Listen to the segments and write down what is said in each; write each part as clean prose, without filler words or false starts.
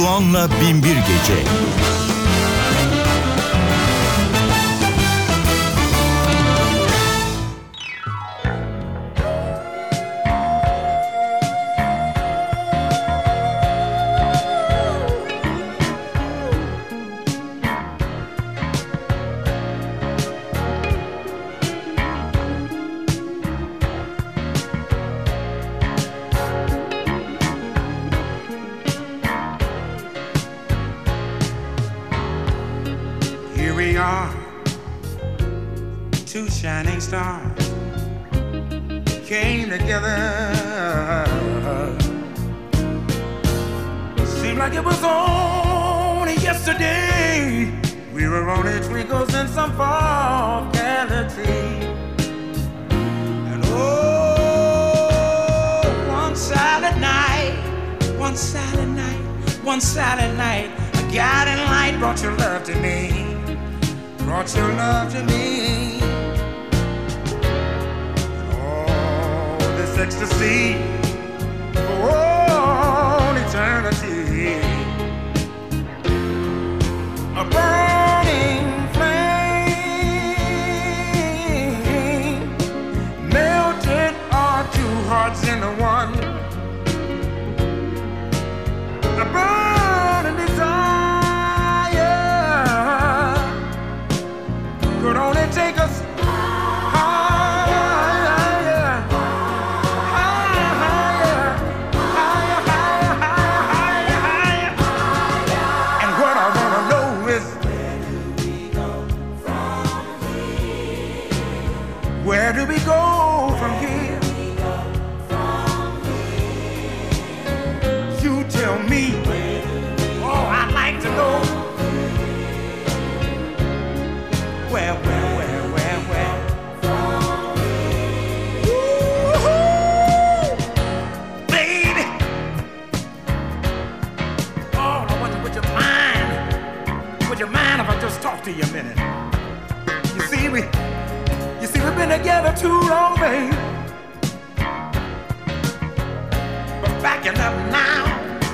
Doğan'la Binbir Gece. Two shining stars came together. Seemed like it was only yesterday. We were only twinkles in some far galaxy. And oh, one silent night, a guiding light brought your love to me. Brought your love to me. Oh, this ecstasy for all eternity. A burning flame melted our two hearts into one. A burning desire could only take us higher, higher, higher, higher, higher, higher, higher, higher. And what I wanna know is, where do we go from here? You tell me. Oh, I'd like to know. Where? Woo-hoo! Baby! Oh, I wonder, would you mind if I just talk to you a minute? You see, we've been together too long, babe. But backing up now.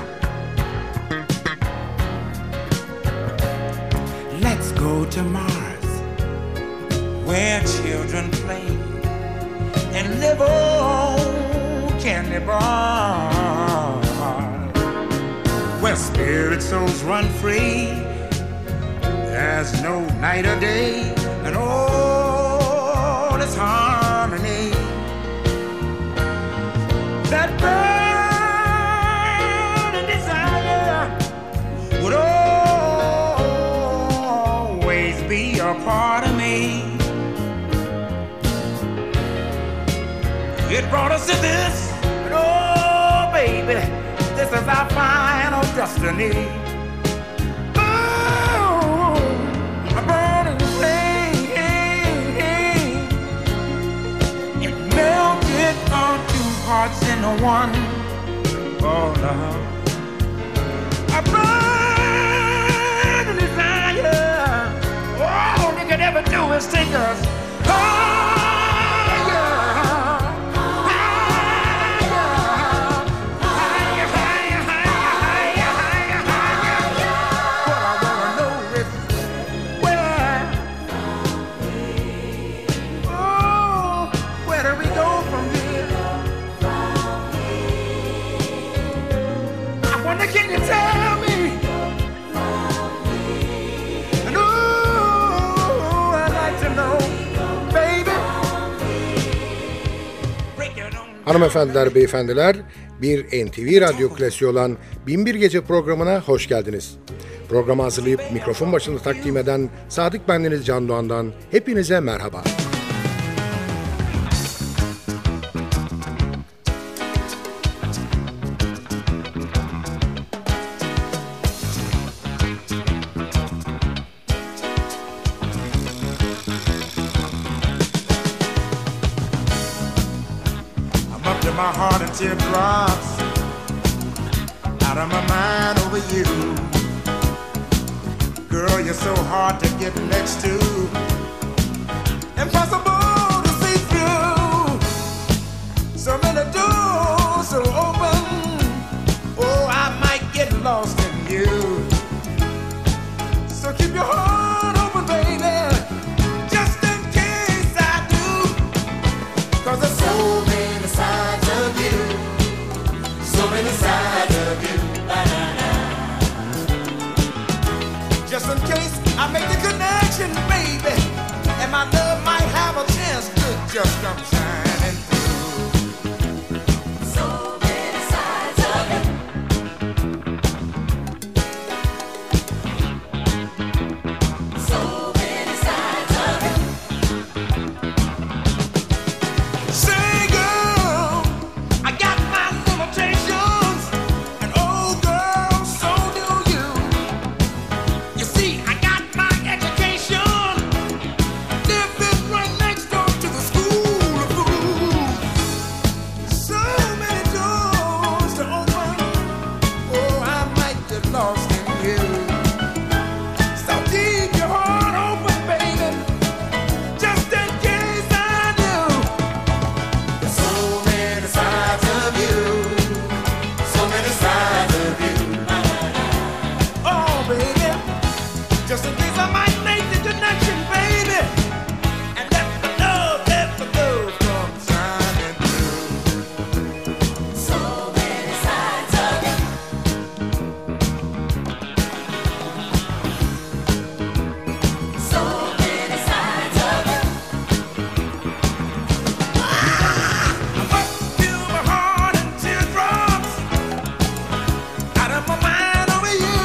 Let's go to Mars, where children play and live on candy bars, where spirit souls run free. There's no night or day, and all is harmony. That burning desire would always be a part of me. It brought us to this, and oh baby, this is our final destiny. Oh, a burning flame, it melted our two hearts into one. Oh love, a burning desire. All you could ever do is take us higher. Can you tell me? And ooh, I'd like to know, baby. Hanımefendiler, beyefendiler, bir NTV Radyo klasiği olan Binbir Gece programına hoş geldiniz. Programı hazırlayıp mikrofon başında takdim eden Sadık bendeniz Can Doğan'dan hepinize merhaba. My heart and teardrops out of my mind over you. Girl, you're so hard to get next to, impossible to see through. So many doors are open. Oh, I might get lost in you. just come shining through. So many sides of it. So many sides of it. Say, girl, I got my limitations, and oh, girl, so do you. You see, I got my education, living right next door to the school of fools. So many doors to open, oh, I might get lost in you. So keep your heart open, baby, just in case I do. There's so many sides of you, so many sides of you. Oh, baby, just in case I might make the connection, baby, and let the love come shining through. So many sides of it. So many sides of it. I must feel my heart in teardrops, out of my mind over you.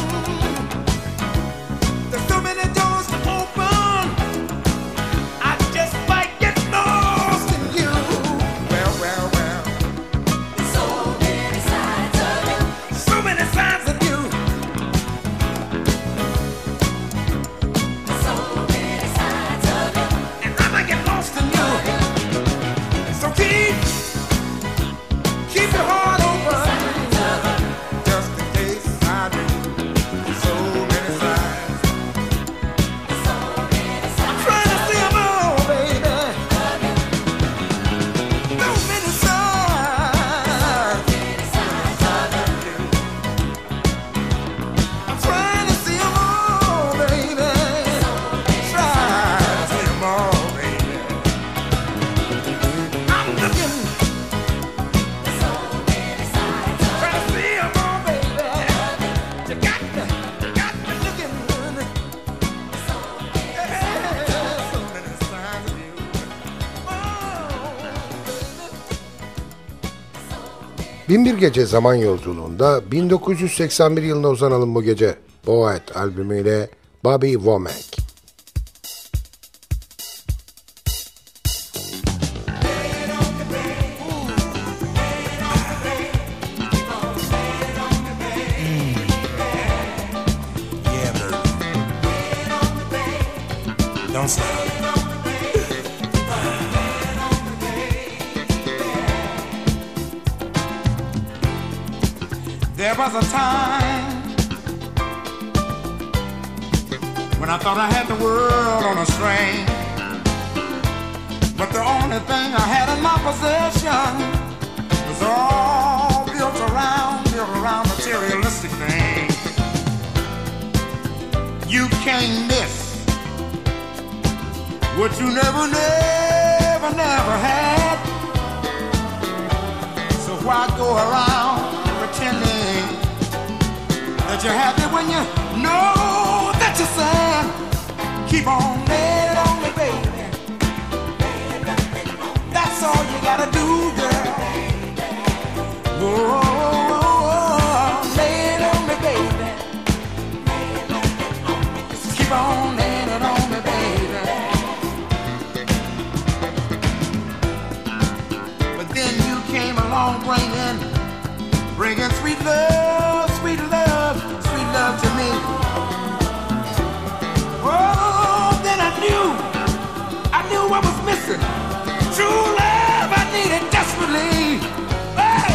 There's so many doors to open, I just might get lost in you. Well, well, well. So many sides of it. So many sides of you. So many sides of it. And I might get lost in you. So keep your heart open, just in case I do. So many sides. I'm trying to see 'em all, baby. So many sides. I'm trying to see 'em all, baby. Try to see 'em all, baby. I'm looking. Trying to see 'em all, baby. You got me looking. So many sides of you. Oh, baby. Binbir Gece zaman yolculuğunda 1981 yılına uzanalım bu gece. Poet albümüyle Bobby Womack. Yeah, baby. Don't stop. There was a time when I thought I had the world on a string, but the only thing I had in my possession was all built around materialistic things. You can't miss what you never had. So why go around pretending that you're happy when you know that you're sad? Keep on laying on me, baby. That's all you gotta do, girl. Whoa, lay it on me, baby. Just keep on laying it on me, baby. But then you came along bringing sweet love to me. Oh, then I knew what was missing. True love I needed desperately. Hey!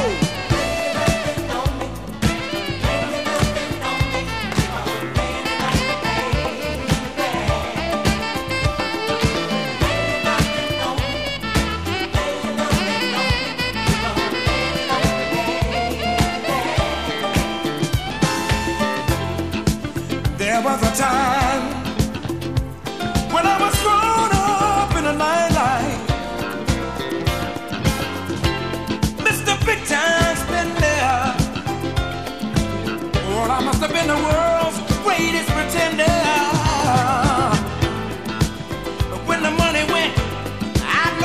There was a time when I was grown up in a nightlife. Mr. Big Time's been there. Well, I must have been the world's greatest pretender. But when the money went, I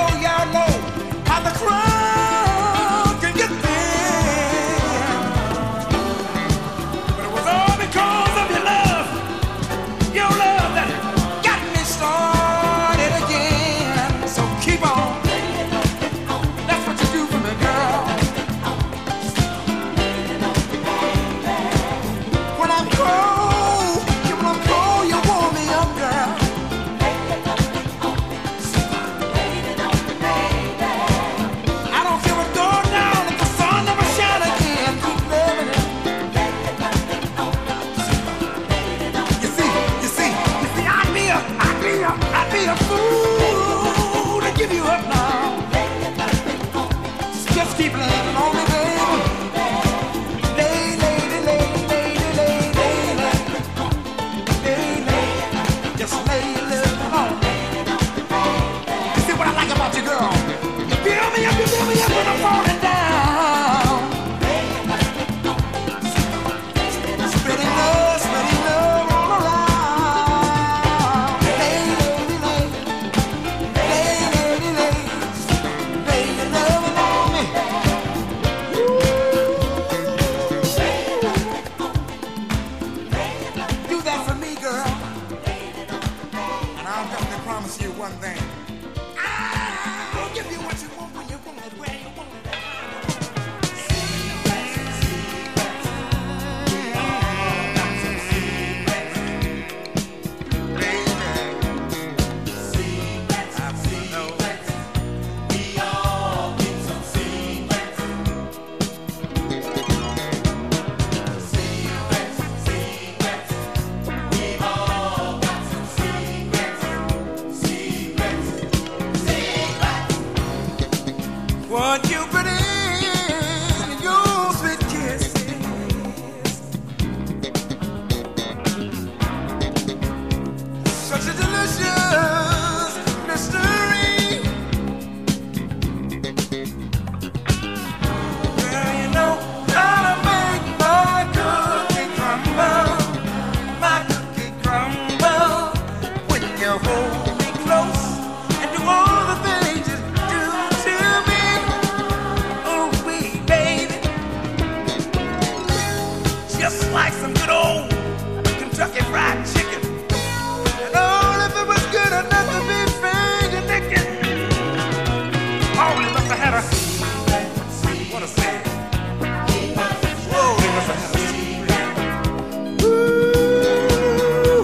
just like some good old Kentucky Fried Chicken. And oh, if it was good enough to be finger licking, oh, they must have had a, what a say. Whoa, they must have had a secret. Ooh,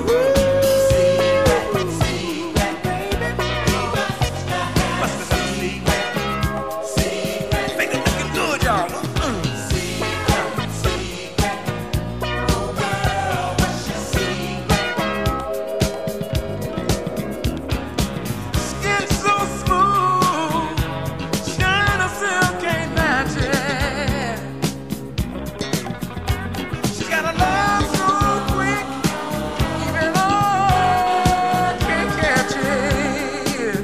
must have had a secret. Finger looking good, y'all. Skin so smooth, China silk ain't matching. She's got a love so quick, even I can't catch it.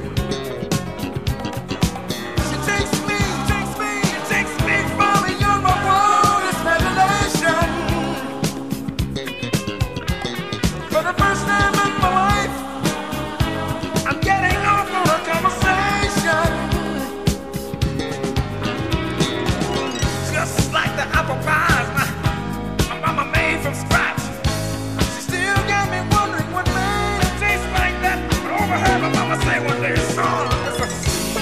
She takes me from a young boy's revelation. For the first time in my life, I'm getting off on a conversation. Just like the apple pies my mama made from scratch. She still got me wondering what made it taste like that. But overheard my mama say one day, son, it's a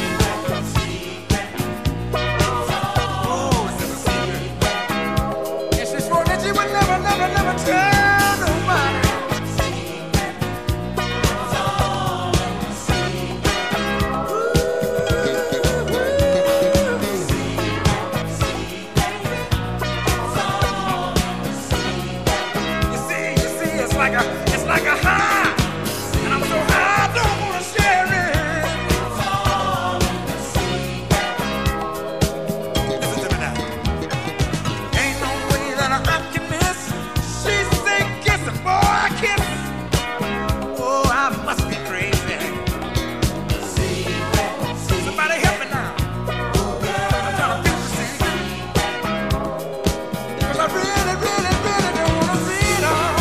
oh, it's a secret. And she swore that she would never tell nobody. You see, it's like a high, and I'm so high I don't wanna share it. Listen to me now. Ain't no way that I can miss. She say kiss it, boy, I kiss. Oh, I must be crazy. Somebody help me now. I'm trying to fix the secret. 'Cause I really don't wanna see it all.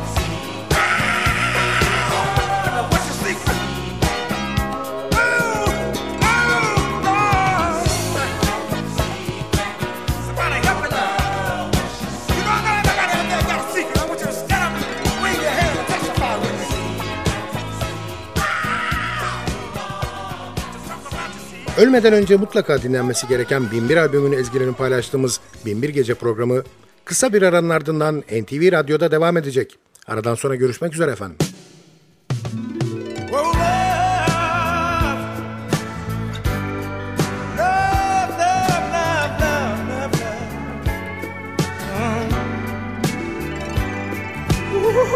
What's your secret? Oh, Lord. Somebody help me now. You know, I got a secret. I want you to stand up and wave your hand and testify with me. Just talk about your secret. Ölmeden önce mutlaka dinlenmesi gereken Binbir albümünün ezgilerini paylaştığımız Binbir Gece programı kısa bir aranın ardından NTV Radyo'da devam edecek. Aradan sonra görüşmek üzere efendim. Oh, love, love, love, love, love, love, love. Ooh.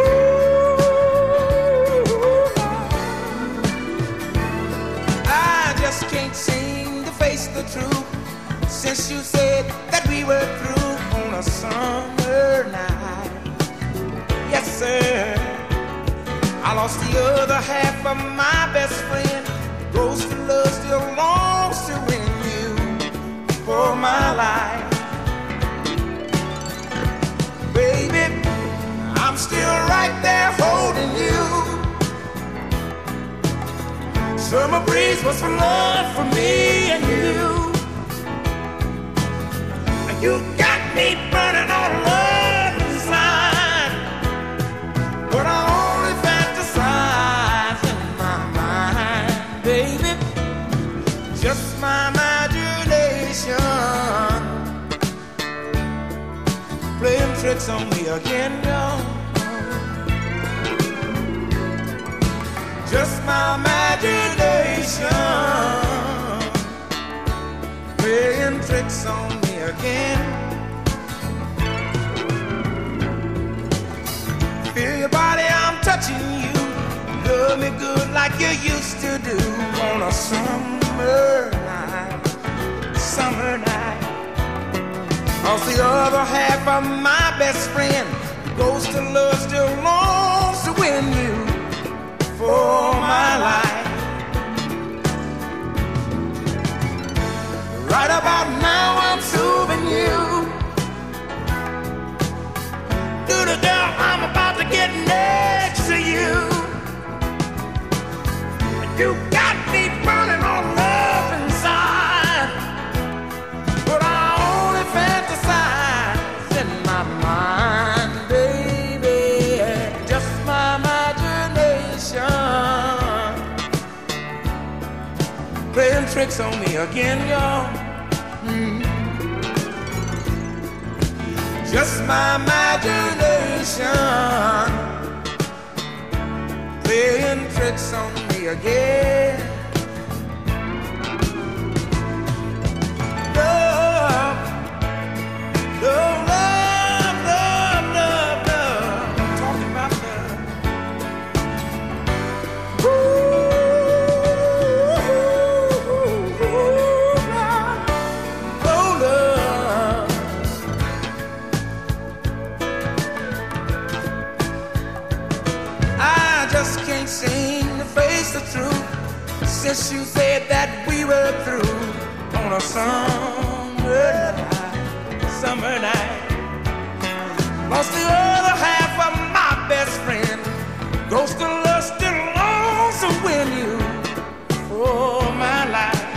I just can't seem to face the truth since you said that we were through on a summer night. Yes, sir. I lost the other half of my best friend. Rose to love still longs to win you for my life. Baby, I'm still right there holding you. Summer breeze was for love for me and you. You got me burning on love inside, but I only fantasize in my mind, baby. Just my imagination playing tricks on me again, y'all. Just my imagination playing tricks on me again. Feel your body, I'm touching you. Love me good like you used to do on a summer night, summer night. Cause the other half of my best friend goes to love still longs to win you for my life. Right about now I'm soothing you. Little girl, I'm about to get next to you. You got me burning on love inside, but I only fantasize in my mind. tricks on me again, y'all. Just my imagination playing tricks on me again. Love, love, love, love, love, love. I'm talking about love. Can't seem to face the truth since you said that we were through on a summer night. Lost the other half of my best friend. Ghost of love still lonesome when you for my life.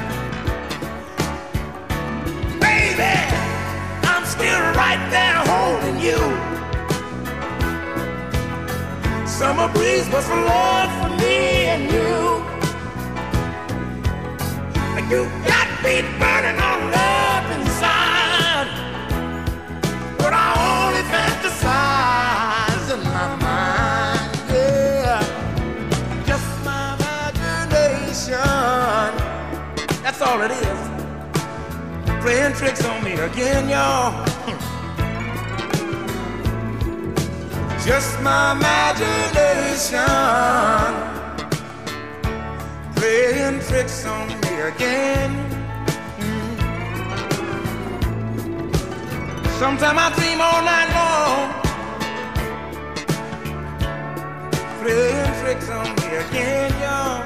Baby, I'm still right there holding you. Summer breeze was for love for me and you. You got me burning on love inside, but I only fantasize in my mind, yeah. Just my imagination, that's all it is. Playing tricks on me again, y'all. Just my imagination playing tricks on me again. Sometimes I dream all night long, playing tricks on me again, y'all.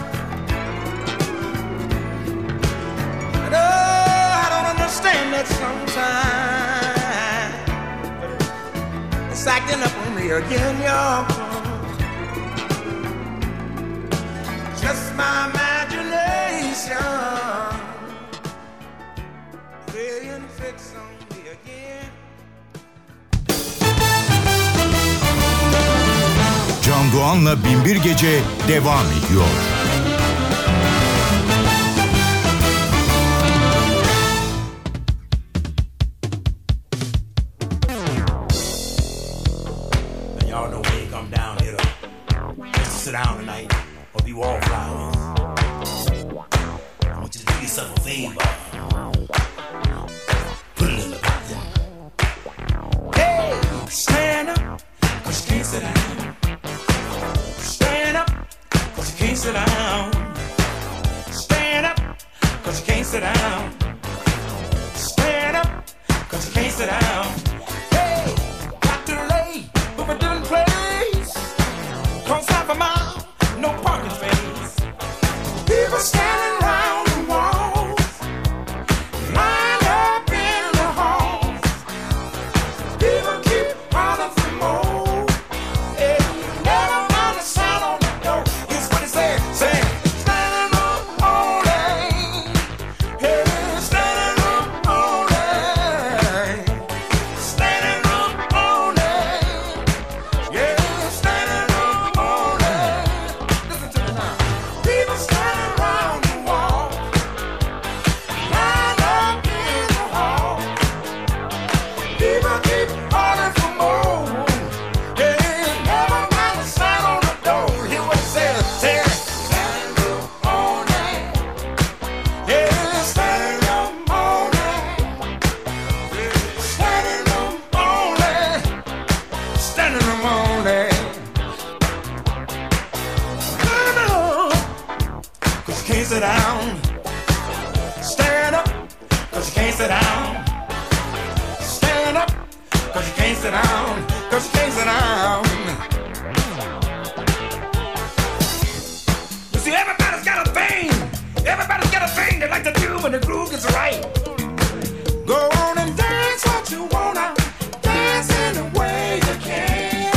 And oh, I don't understand that sometimes. It's acting up on me again, y'all. Just my imagination playing tricks on me again. Can Doğan'la Binbir Gece devam ediyor. Y'all know when you come down here to sit down tonight or be wallflowers, I want you to do yourself a favor. Put a little bit there. Hey, stand up, 'cause you can't sit down. Stand up, 'cause you can't sit down. Stand up, 'cause you can't sit down. Stand up, 'cause you can't sit down. Hey, got to lay with a different place. Cross half a mile, no parking space. People standing around the walls, lined up in the halls. People keep calling for more. Hey, you never find a sign on the door. Here's what it said, say, standing up all day. Hey, standing up all day. Standing up all day. Yeah, standing up all day. Listen to me now. People standing around the wall, lined up in the hall. People keep calling for more. Yeah, never mind the sign on the door. Hear what it says, say, standing up all day. Yeah, standing up all day. Standing up all day. Standing up all day. Stand up, 'cause you can't sit down. Stand up, 'cause you can't sit down. Stand up, 'cause you can't sit down. 'Cause you can't sit down. You see, everybody's got a thing. Everybody's got a thing they like to do when the groove gets right. Go on and dance what you wanna. Dance any way you can.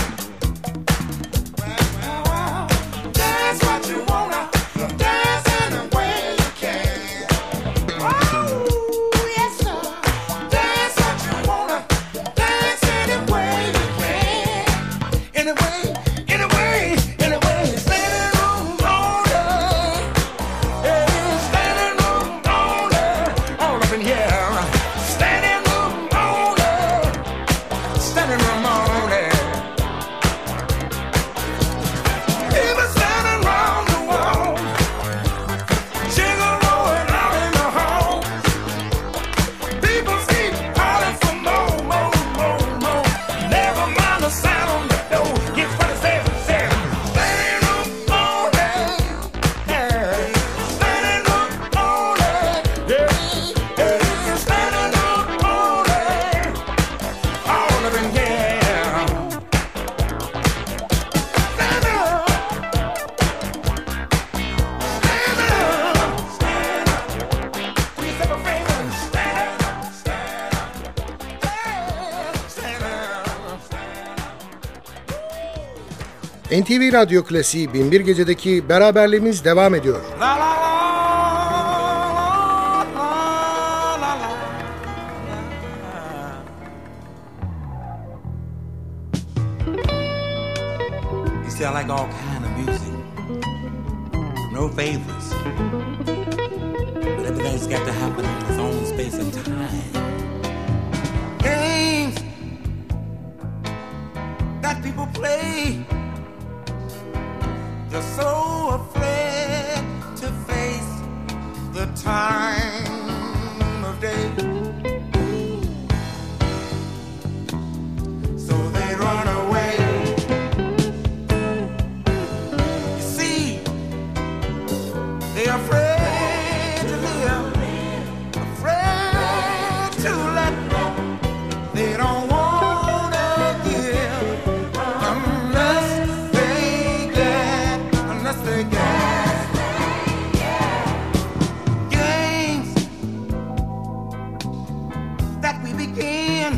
Dance what you wanna. Dance any way you can. Oh, yes, sir. Dance what you wanna. Dance any way you can. Anyway, anyway, anyway. Standing on all day. Yeah, standing on NTV Radyo Klasiği Binbir Gece'deki beraberliğimiz devam ediyor. La la la la la la. You see, I like all kind of music. No favorites. But everything's got to happen in its own space and time. Games that people play. They're so afraid to face the time of day. So they run away. You see, they're afraid to live, afraid to let go. They don't want to give unless they get. Games that we begin,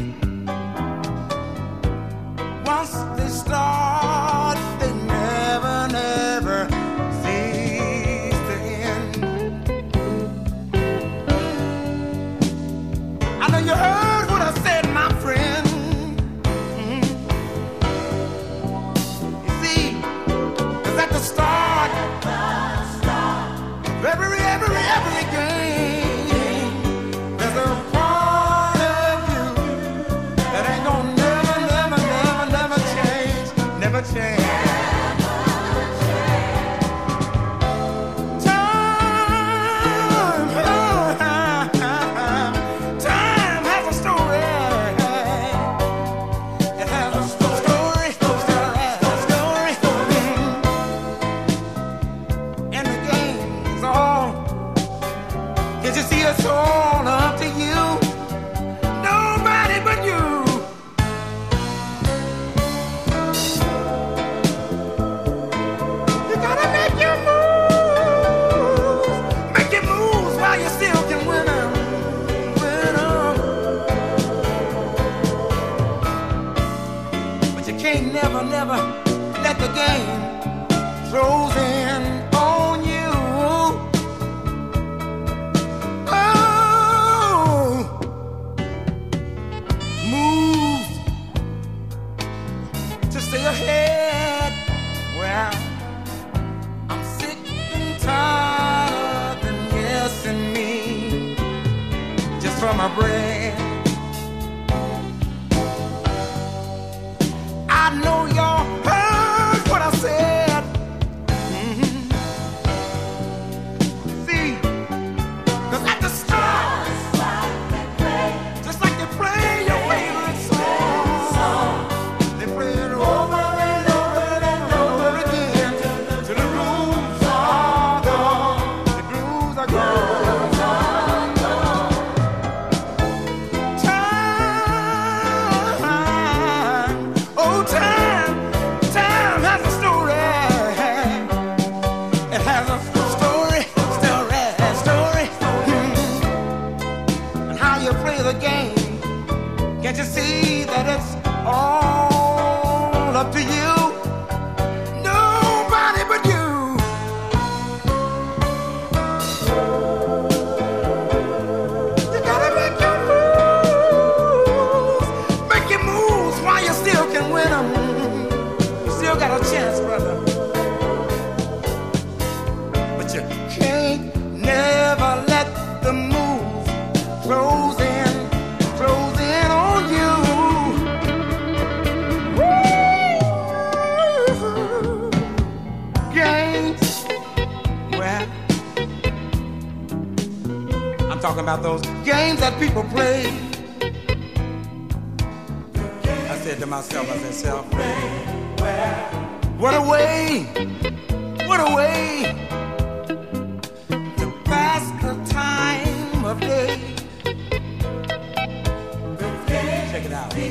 once they start, they never, never cease to end. I know you heard what I said, my friend. You see, 'cause at the start, every game, there's a part of you that ain't gonna never change, never change. Time has a story. It has a story. And the game's all. Can't you see it's all up to you? Nobody but you. You gotta make your moves. Make your moves while you still can win 'em. Win 'em. But you can't never let the game close in on you. Move to stay ahead. Well, I'm sick and tired of them guessing me just for my bread. I know y'all heard what I said. See, 'cause at the start, just like they play your favorite song, they play it over and over and over again till the grooves are gone. The grooves are gone. Time, oh time has a story. It has a story. And how you play the game. Can't you see that it's all up to you? Nobody but you. You gotta make your moves. Make your moves while you still can win 'em. You still got a chance, brother. But you can't never let the moves close in on you. Woo! Games, well, I'm talking about those games that people play. I said to myself, self, what a way to pass the time of day. Check it out.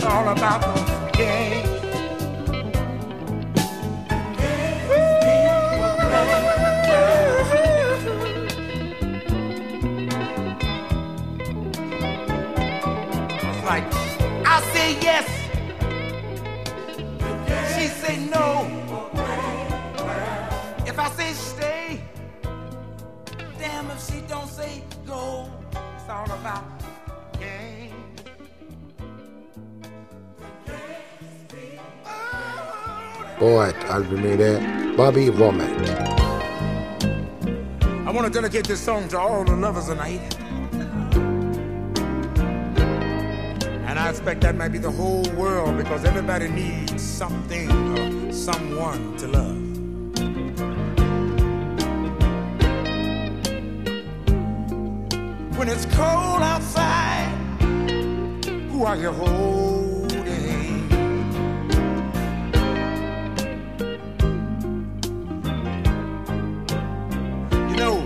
all about those games. It's like I say yes, she say no. If I say stay, damn if she don't say go. It's all about games. Poet albümüyle Bobby Womack. I want to dedicate this song to all the lovers tonight. And I expect that might be the whole world, because everybody needs something or someone to love. When it's cold outside, who are you holding? You know,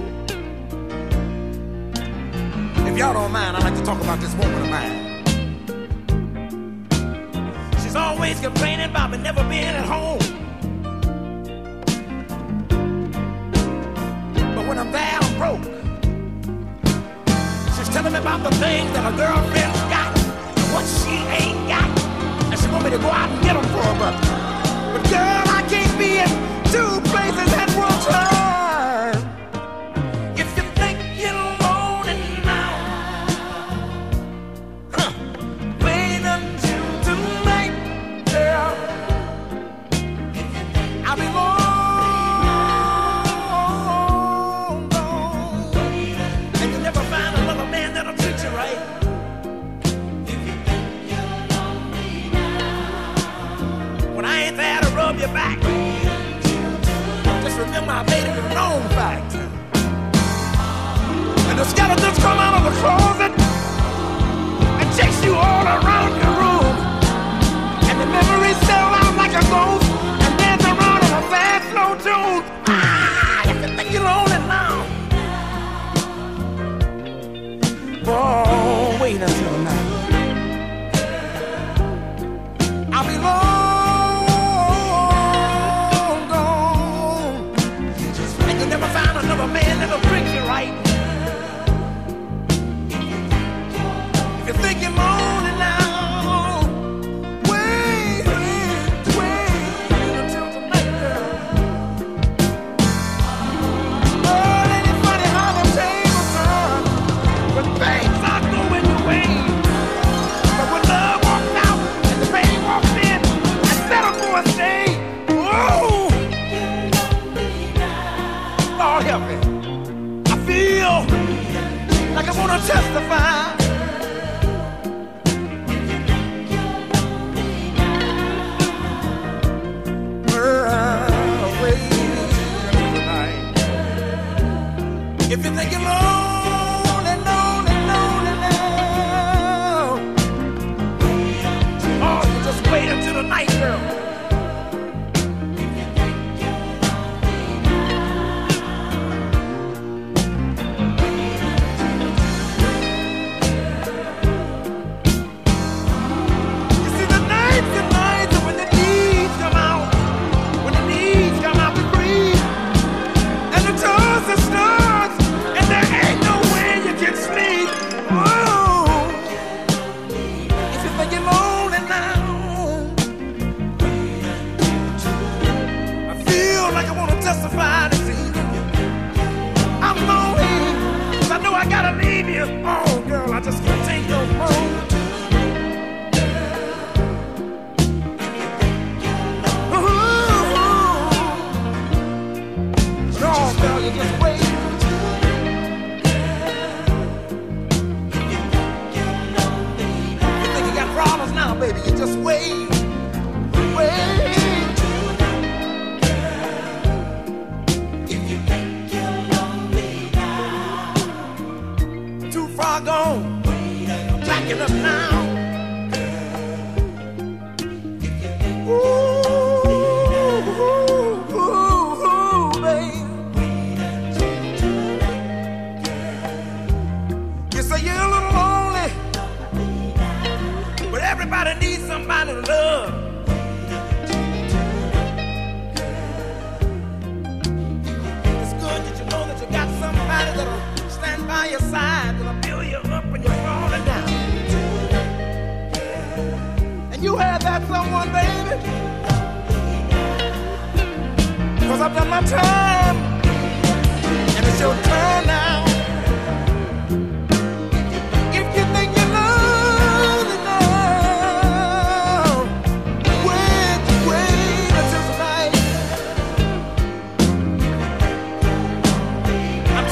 if y'all don't mind, I'd like to talk about this woman of mine. She's always complaining about me never being at home. But when I'm there, I'm broke. She's telling me about the things that her girlfriend's got and what she ain't got. And she want me to go out and get them for her, but girl, I can't be in two places at one time. If you think you're lonely now, wait until tonight, girl. I'll be long gone, and you'll never find another man that'll treat you right. When I ain't there to rub your back, just remember I made it a known fact. And the skeletons come out of the closet and chase you all around your room. And the memories sell out like a ghost and dance around in a fast, slow tune. Ah, if you think you're lonely now, oh, wait until night. I'll be long gone, and you'll never find another man that'll treat you right. If you think you're lonely now, wait until tonight, girl. Oh, ain't it funny how the tables turn when things are going your way? But when love walks out and the pain walks in and settle for a stay, whoa! Lord help me. I feel like I wanna testify. If you think you're lonely, lonely, lonely now, oh, you just wait until the night, girl. You see, the nights are when the needs come out, when the needs come out to breathe, and the toss and starts, and there ain't no way you can sleep. Oh, if you think you're lonely now, I feel like I want to testify this evening. I'm lonely, 'cause I know I gotta leave you. Oh, girl, I just can't take no more. No, girl, you just wait. You think you got problems now, baby? You just wait, wait. Too far gone, back it up now. Ooh, babe. You say you're a little lonely, but everybody needs some by your side, gonna build you up when you're falling down. And you have that someone, baby. 'Cause I've done my time, and it's your turn now. If you think you love enough, wait until tonight. I'm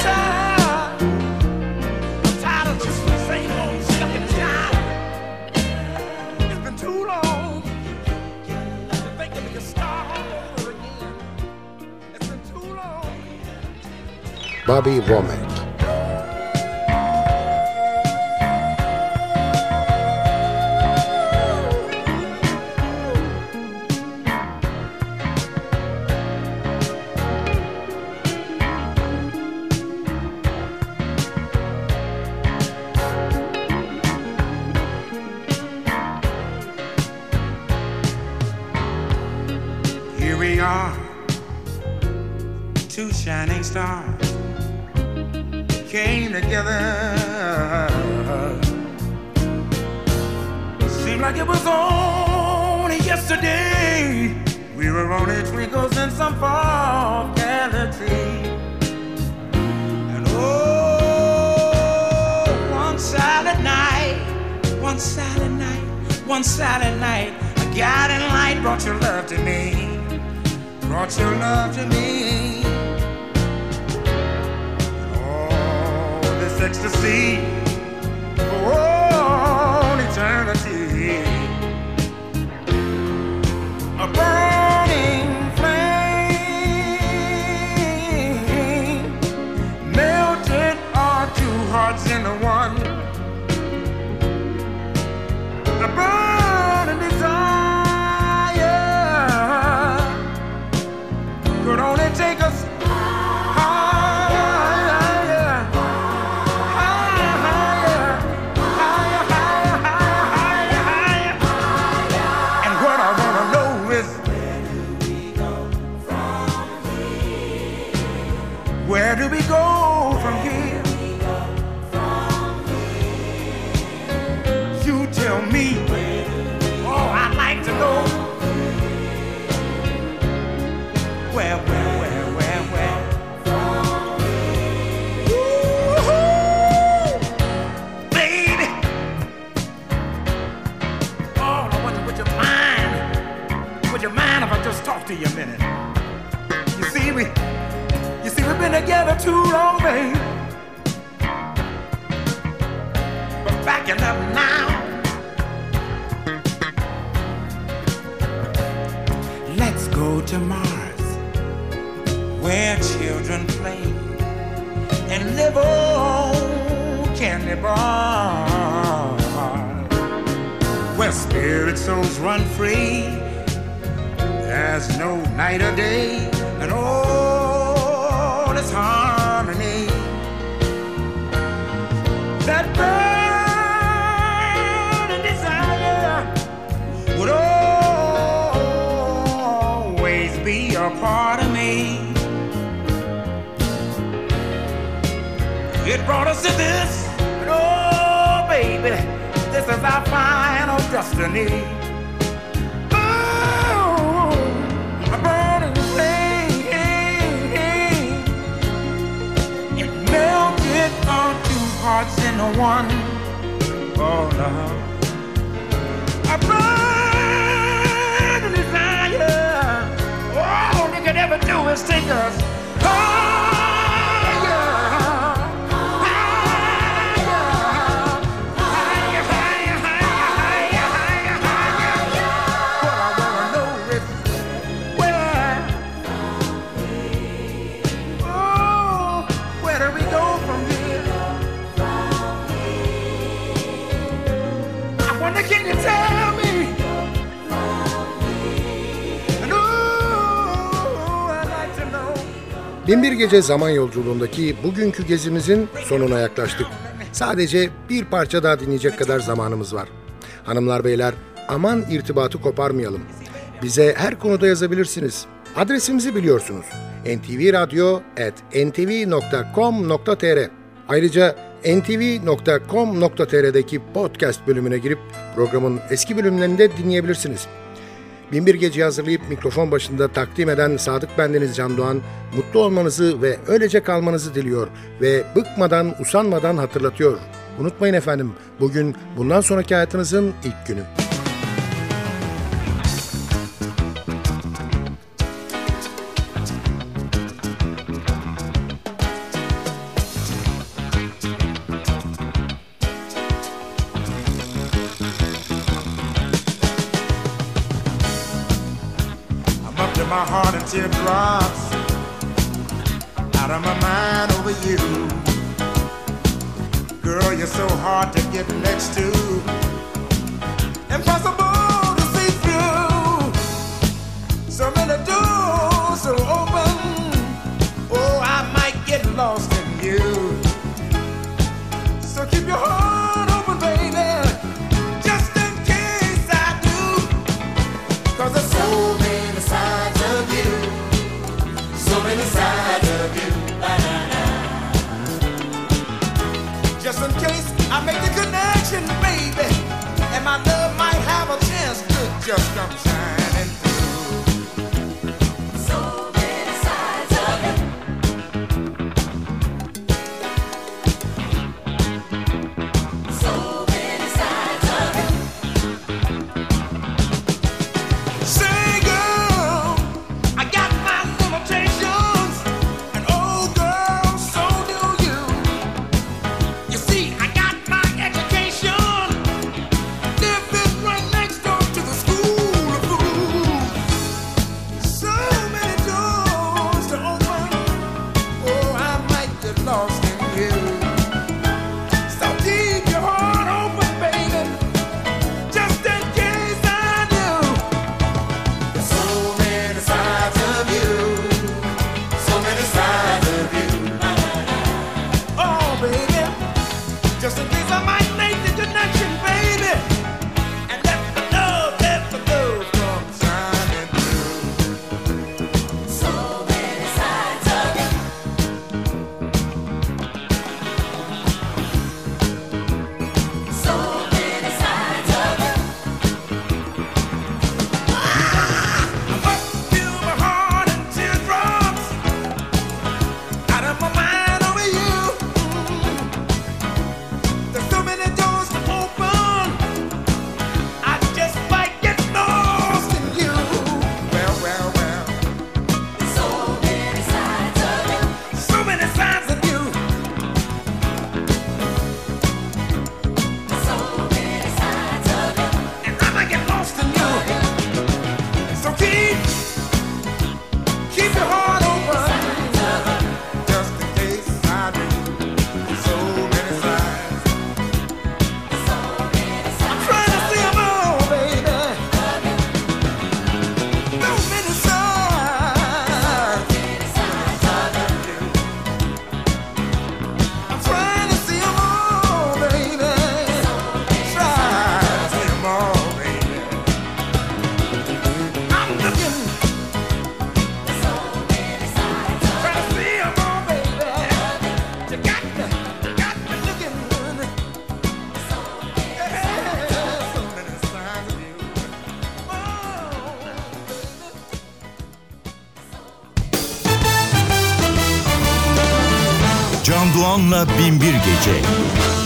tired of the same old stuck in the sky. It's been too long to think that we can start all over again. It's been too long. Bobby Womack. Here we are, two shining stars came together. Seemed like it was only yesterday. We were only twinkles in some far galaxy. And oh, one silent night, a guiding light brought your love to me. Brought your love to me. Oh, this ecstasy for all eternity. A burning flame melted our two hearts into one. A burning desire could only take us higher, higher, higher, higher, higher, higher, higher. And what I wanna know is, where do we go from here? You tell me. Oh, I'd like to know. Where? Woo-hoo! Baby! Oh, I wonder, would you mind if I just talk to you a minute? You see, we've been together too long, babe. But backing up now. Let's go to Mars, where children play and live on candy bars, where spirit souls run free. There's no night or day, and all is harmony. That burning desire would always be a part of me. It brought us to this, and oh baby, this is our final destiny. Oh, a burning flame, it melted our two hearts into one. Oh love, a burning desire. All they could ever do is take us higher, higher, higher, higher, higher, higher, higher. What I wanna know is where, oh, where do we go from here? I wonder, can you tell me? And ooh, I'd like to know. Binbir Gece zaman yolculuğundaki bugünkü gezimizin sonuna yaklaştık. Sadece bir parça daha dinleyecek kadar zamanımız var. Hanımlar beyler, aman irtibatı koparmayalım. Bize her konuda yazabilirsiniz. Adresimizi biliyorsunuz. ntvradio@ntv.com.tr. Ayrıca ntv.com.tr'deki podcast bölümüne girip programın eski bölümlerini de dinleyebilirsiniz. Binbir Gece'yi hazırlayıp mikrofon başında takdim eden Sadık bendeniz Can Doğan, mutlu olmanızı ve öylece kalmanızı diliyor ve bıkmadan, usanmadan hatırlatıyor. Unutmayın efendim, bugün bundan sonraki hayatınızın ilk günü. My heart in teardrops, out of my mind over you. Girl, you're so hard to get next to, impossible to see through. So many doors are open, oh, I might get lost in you. So keep your heart open, baby, just in case I do. 'Cause there's so many sides of you, so many sides of you. Just in case I make the connection, baby, and my love might have a chance to just come shining through. So many sides of you. So many sides of you. Say, girl, I got my limitations, and oh, girl, so do you. You see, I got my education, living right next door to the school of fools. So many doors to open, oh, I might get lost in you. So keep your heart open, baby, just in case I do. There's so many sides of you, so many sides of you. Oh, baby, just in case I might make the connection, baby, and let the love come shining through. So many sides of you. So many sides of you. I'm up to my heart in teardrops, out of my mind over you. There's so many doors to open, I just might get lost in you. Well, well, well. So many sides of you. So many sides of you. So many sides of you. And I might get lost in you. So keep your heart open, just in case I do. So many sides. I'm trying to see 'em all, baby. So many sides. I'm trying to see 'em all, baby. Try to see 'em all, baby. I'm looking, trying to see 'em all, baby. You got me looking. Yeah, so many sides of you. Oh, baby. Can Doğan'la Binbir Gece.